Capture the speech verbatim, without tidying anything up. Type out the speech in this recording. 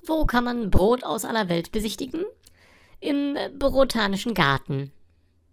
Wo kann man Brot aus aller Welt besichtigen? Im Botanischen Garten.